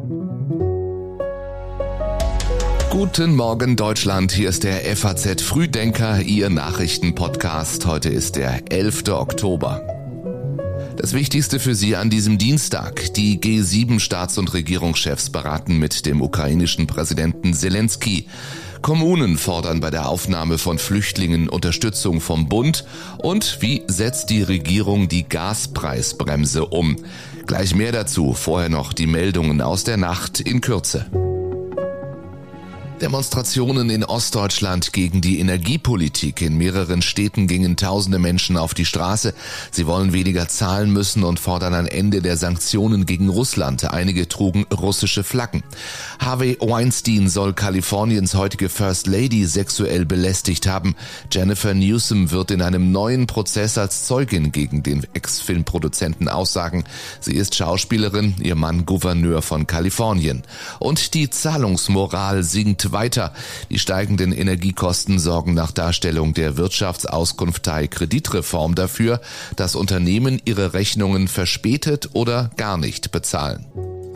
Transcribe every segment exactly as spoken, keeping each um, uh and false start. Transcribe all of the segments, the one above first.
Guten Morgen Deutschland, hier ist der F A Z Frühdenker, Ihr Nachrichtenpodcast. Heute ist der elfter Oktober. Das Wichtigste für Sie an diesem Dienstag. Die G sieben Staats- und Regierungschefs beraten mit dem ukrainischen Präsidenten Selenskyj. Kommunen fordern bei der Aufnahme von Flüchtlingen Unterstützung vom Bund. Und wie setzt die Regierung die Gaspreisbremse um? Gleich mehr dazu, vorher noch die Meldungen aus der Nacht in Kürze. Demonstrationen in Ostdeutschland gegen die Energiepolitik. In mehreren Städten gingen tausende Menschen auf die Straße. Sie wollen weniger zahlen müssen und fordern ein Ende der Sanktionen gegen Russland. Einige trugen russische Flaggen. Harvey Weinstein soll Kaliforniens heutige First Lady sexuell belästigt haben. Jennifer Newsom wird in einem neuen Prozess als Zeugin gegen den Ex-Filmproduzenten aussagen. Sie ist Schauspielerin, ihr Mann Gouverneur von Kalifornien. Und die Zahlungsmoral sinkt weiter. Die steigenden Energiekosten sorgen nach Darstellung der Wirtschaftsauskunftei Kreditreform dafür, dass Unternehmen ihre Rechnungen verspätet oder gar nicht bezahlen.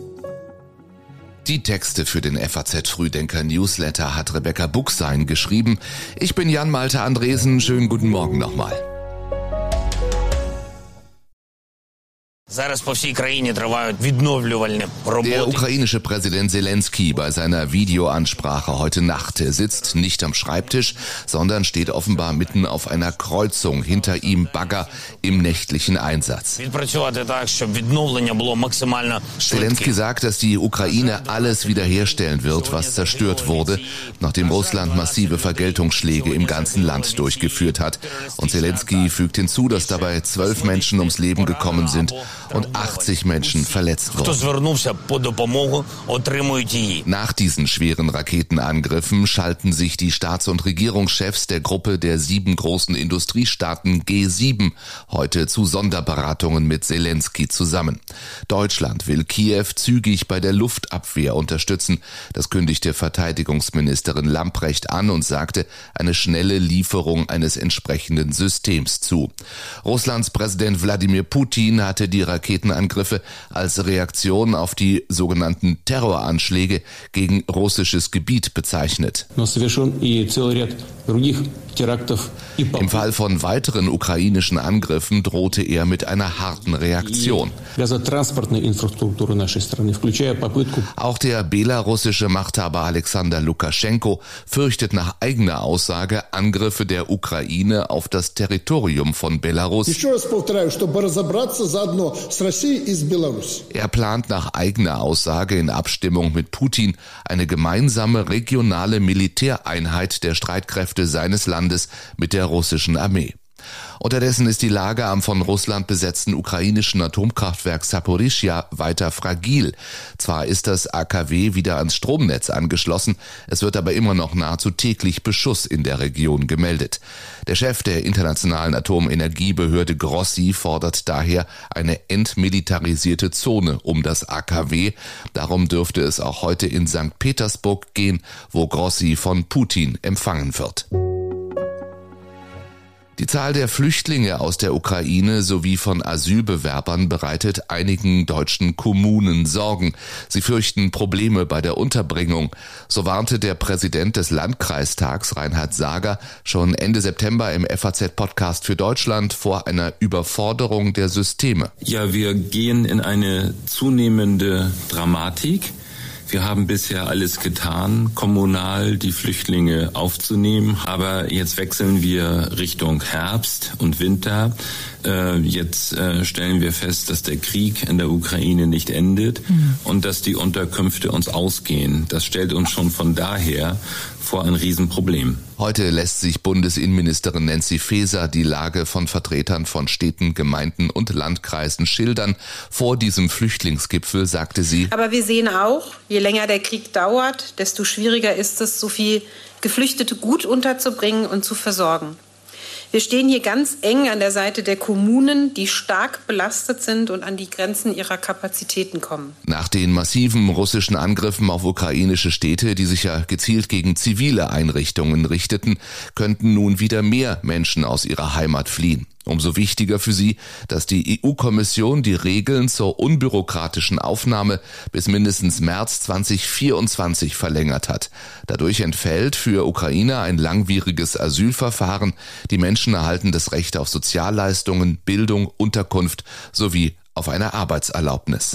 Die Texte für den F A Z Frühdenker Newsletter hat Rebecca Buchsein geschrieben. Ich bin Jan Malte Andresen. Schönen guten Morgen nochmal. Der ukrainische Präsident Selenskyj bei seiner Videoansprache heute Nacht sitzt nicht am Schreibtisch, sondern steht offenbar mitten auf einer Kreuzung, hinter ihm Bagger im nächtlichen Einsatz. Selenskyj sagt, dass die Ukraine alles wiederherstellen wird, was zerstört wurde, nachdem Russland massive Vergeltungsschläge im ganzen Land durchgeführt hat. Und Selenskyj fügt hinzu, dass dabei zwölf Menschen ums Leben gekommen sind und achtzig Menschen verletzt wurden. Nach diesen schweren Raketenangriffen schalten sich die Staats- und Regierungschefs der Gruppe der sieben großen Industriestaaten G sieben heute zu Sonderberatungen mit Selenskyj zusammen. Deutschland will Kiew zügig bei der Luftabwehr unterstützen. Das kündigte Verteidigungsministerin Lambrecht an und sagte eine schnelle Lieferung eines entsprechenden Systems zu. Russlands Präsident Wladimir Putin hatte die Raketenangriffe als Reaktion auf die sogenannten Terroranschläge gegen russisches Gebiet bezeichnet. Im Fall von weiteren ukrainischen Angriffen drohte er mit einer harten Reaktion. Auch der belarussische Machthaber Alexander Lukaschenko fürchtet nach eigener Aussage Angriffe der Ukraine auf das Territorium von Belarus. Er plant nach eigener Aussage in Abstimmung mit Putin eine gemeinsame regionale Militäreinheit der Streitkräfte seines Landes mit der russischen Armee. Unterdessen ist die Lage am von Russland besetzten ukrainischen Atomkraftwerk Saporischschja weiter fragil. Zwar ist das A K W wieder ans Stromnetz angeschlossen, es wird aber immer noch nahezu täglich Beschuss in der Region gemeldet. Der Chef der internationalen Atomenergiebehörde Grossi fordert daher eine entmilitarisierte Zone um das A K W. Darum dürfte es auch heute in Sankt Petersburg gehen, wo Grossi von Putin empfangen wird. Die Zahl der Flüchtlinge aus der Ukraine sowie von Asylbewerbern bereitet einigen deutschen Kommunen Sorgen. Sie fürchten Probleme bei der Unterbringung. So warnte der Präsident des Landkreistags, Reinhard Sager, schon Ende September im F A Z-Podcast für Deutschland vor einer Überforderung der Systeme. Ja, wir gehen in eine zunehmende Dramatik. Wir haben bisher alles getan, kommunal die Flüchtlinge aufzunehmen, aber jetzt wechseln wir Richtung Herbst und Winter. Jetzt stellen wir fest, dass der Krieg in der Ukraine nicht endet mhm. und dass die Unterkünfte uns ausgehen. Das stellt uns schon von daher vor ein Riesenproblem. Heute lässt sich Bundesinnenministerin Nancy Faeser die Lage von Vertretern von Städten, Gemeinden und Landkreisen schildern. Vor diesem Flüchtlingsgipfel sagte sie: Aber wir sehen auch, je länger der Krieg dauert, desto schwieriger ist es, so viel Geflüchtete gut unterzubringen und zu versorgen. Wir stehen hier ganz eng an der Seite der Kommunen, die stark belastet sind und an die Grenzen ihrer Kapazitäten kommen. Nach den massiven russischen Angriffen auf ukrainische Städte, die sich ja gezielt gegen zivile Einrichtungen richteten, könnten nun wieder mehr Menschen aus ihrer Heimat fliehen. Umso wichtiger für sie, dass die E U-Kommission die Regeln zur unbürokratischen Aufnahme bis mindestens März zweitausendvierundzwanzig verlängert hat. Dadurch entfällt für Ukrainer ein langwieriges Asylverfahren. Die Menschen erhalten das Recht auf Sozialleistungen, Bildung, Unterkunft sowie auf eine Arbeitserlaubnis.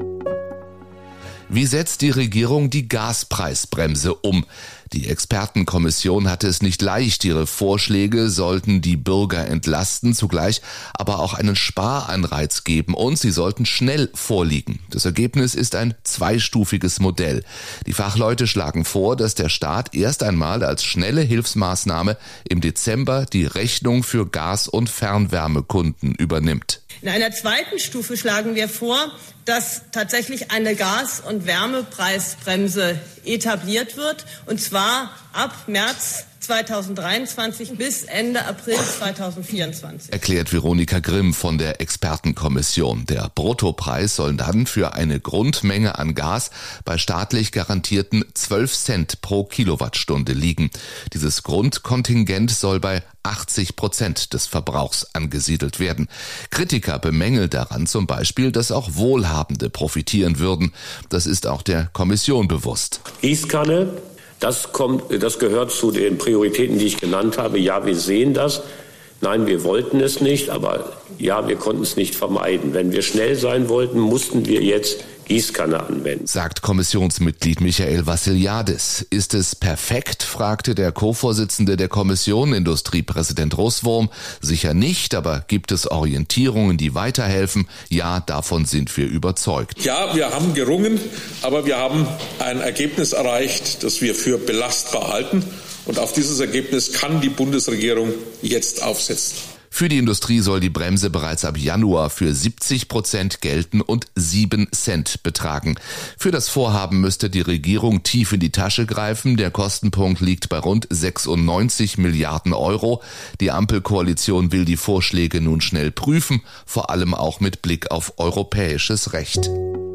Wie setzt die Regierung die Gaspreisbremse um? Die Expertenkommission hatte es nicht leicht. Ihre Vorschläge sollten die Bürger entlasten, zugleich aber auch einen Sparanreiz geben und sie sollten schnell vorliegen. Das Ergebnis ist ein zweistufiges Modell. Die Fachleute schlagen vor, dass der Staat erst einmal als schnelle Hilfsmaßnahme im Dezember die Rechnung für Gas- und Fernwärmekunden übernimmt. In einer zweiten Stufe schlagen wir vor, dass tatsächlich eine Gas- und Wärmepreisbremse etabliert wird, und zwar ab März zweitausenddreiundzwanzig bis Ende April zweitausendvierundzwanzig. Erklärt Veronika Grimm von der Expertenkommission. Der Bruttopreis soll dann für eine Grundmenge an Gas bei staatlich garantierten zwölf Cent pro Kilowattstunde liegen. Dieses Grundkontingent soll bei achtzig Prozent des Verbrauchs angesiedelt werden. Kritiker bemängeln daran zum Beispiel, dass auch Wohlhabende profitieren würden. Das ist auch der Kommission bewusst. Gießkanne, das kommt, das gehört zu den Prioritäten, die ich genannt habe. Ja, wir sehen das. Nein, wir wollten es nicht, aber ja, wir konnten es nicht vermeiden. Wenn wir schnell sein wollten, mussten wir jetzt Gießkanne anwenden. Sagt Kommissionsmitglied Michael Vassiliadis. Ist es perfekt, fragte der Co-Vorsitzende der Kommission, Industriepräsident Russwurm. Sicher nicht, aber gibt es Orientierungen, die weiterhelfen? Ja, davon sind wir überzeugt. Ja, wir haben gerungen, aber wir haben ein Ergebnis erreicht, das wir für belastbar halten. Und auf dieses Ergebnis kann die Bundesregierung jetzt aufsetzen. Für die Industrie soll die Bremse bereits ab Januar für siebzig Prozent gelten und sieben Cent betragen. Für das Vorhaben müsste die Regierung tief in die Tasche greifen. Der Kostenpunkt liegt bei rund sechsundneunzig Milliarden Euro. Die Ampelkoalition will die Vorschläge nun schnell prüfen, vor allem auch mit Blick auf europäisches Recht.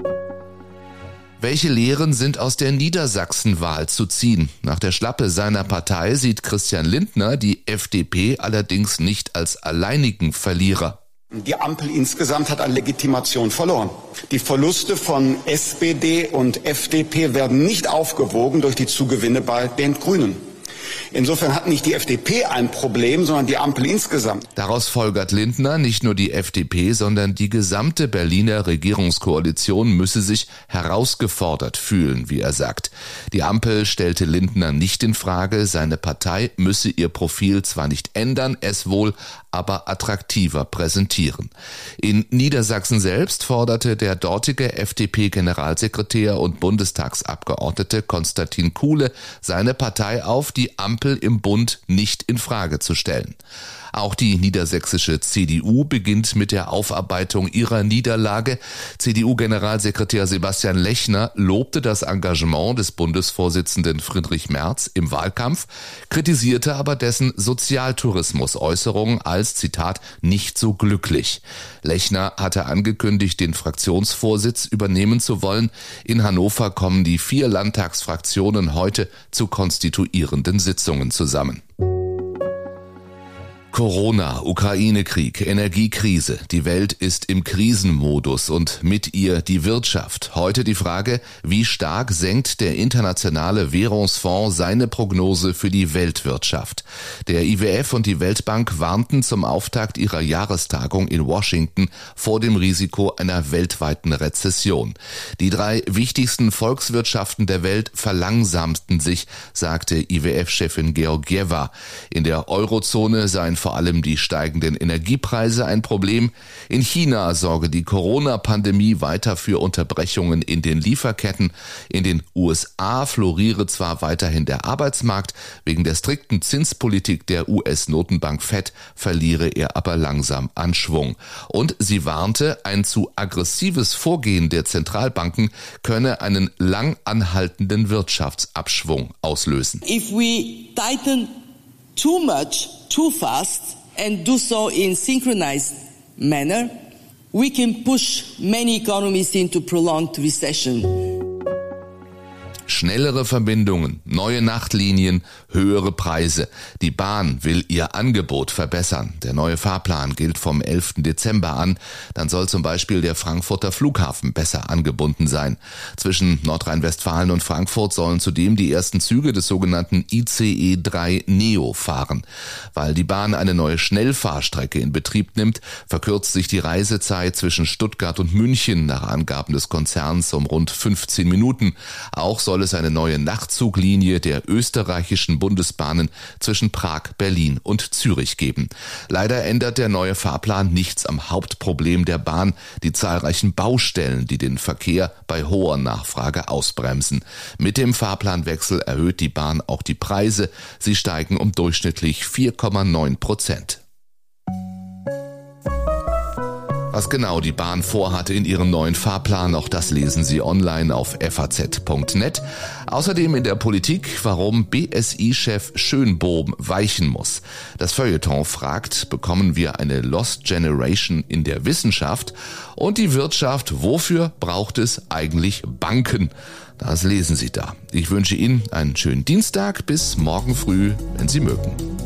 Welche Lehren sind aus der Niedersachsenwahl zu ziehen? Nach der Schlappe seiner Partei sieht Christian Lindner die F D P allerdings nicht als alleinigen Verlierer. Die Ampel insgesamt hat an Legitimation verloren. Die Verluste von S P D und F D P werden nicht aufgewogen durch die Zugewinne bei den Grünen. Insofern hat nicht die F D P ein Problem, sondern die Ampel insgesamt. Daraus folgert Lindner, nicht nur die F D P, sondern die gesamte Berliner Regierungskoalition müsse sich herausgefordert fühlen, wie er sagt. Die Ampel stellte Lindner nicht in Frage, seine Partei müsse ihr Profil zwar nicht ändern, es wohl aber attraktiver präsentieren. In Niedersachsen selbst forderte der dortige F D P-Generalsekretär und Bundestagsabgeordnete Konstantin Kuhle seine Partei auf, die Ampel im Bund nicht in Frage zu stellen. Auch die niedersächsische C D U beginnt mit der Aufarbeitung ihrer Niederlage. C D U-Generalsekretär Sebastian Lechner lobte das Engagement des Bundesvorsitzenden Friedrich Merz im Wahlkampf, kritisierte aber dessen Sozialtourismus-Äußerungen als, Zitat, nicht so glücklich. Lechner hatte angekündigt, den Fraktionsvorsitz übernehmen zu wollen. In Hannover kommen die vier Landtagsfraktionen heute zu konstituierenden Sitzungen zusammen. Corona, Ukraine-Krieg, Energiekrise. Die Welt ist im Krisenmodus und mit ihr die Wirtschaft. Heute die Frage, wie stark senkt der Internationale Währungsfonds seine Prognose für die Weltwirtschaft? Der I W F und die Weltbank warnten zum Auftakt ihrer Jahrestagung in Washington vor dem Risiko einer weltweiten Rezession. Die drei wichtigsten Volkswirtschaften der Welt verlangsamten sich, sagte I W F-Chefin Georgieva. In der Eurozone seien vor allem die steigenden Energiepreise ein Problem. In China sorge die Corona-Pandemie weiter für Unterbrechungen in den Lieferketten. In den U S A floriere zwar weiterhin der Arbeitsmarkt, wegen der strikten Zinspolitik der U S-Notenbank Fed verliere er aber langsam an Schwung. Und sie warnte, ein zu aggressives Vorgehen der Zentralbanken könne einen lang anhaltenden Wirtschaftsabschwung auslösen. If we tighten too much, too fast, and do so in synchronized manner, we can push many economies into prolonged recession. Schnellere Verbindungen, neue Nachtlinien, höhere Preise. Die Bahn will ihr Angebot verbessern. Der neue Fahrplan gilt vom elften Dezember an. Dann soll zum Beispiel der Frankfurter Flughafen besser angebunden sein. Zwischen Nordrhein-Westfalen und Frankfurt sollen zudem die ersten Züge des sogenannten I C E drei Neo fahren. Weil die Bahn eine neue Schnellfahrstrecke in Betrieb nimmt, verkürzt sich die Reisezeit zwischen Stuttgart und München nach Angaben des Konzerns um rund fünfzehn Minuten. Auch soll es eine neue Nachtzuglinie der österreichischen Bundesbahnen zwischen Prag, Berlin und Zürich geben. Leider ändert der neue Fahrplan nichts am Hauptproblem der Bahn, die zahlreichen Baustellen, die den Verkehr bei hoher Nachfrage ausbremsen. Mit dem Fahrplanwechsel erhöht die Bahn auch die Preise. Sie steigen um durchschnittlich vier Komma neun Prozent. Was genau die Bahn vorhatte in ihrem neuen Fahrplan, auch das lesen Sie online auf f a z punkt net. Außerdem in der Politik, warum B S I-Chef Schönbohm weichen muss. Das Feuilleton fragt, bekommen wir eine Lost Generation in der Wissenschaft? Und die Wirtschaft, wofür braucht es eigentlich Banken? Das lesen Sie da. Ich wünsche Ihnen einen schönen Dienstag, bis morgen früh, wenn Sie mögen.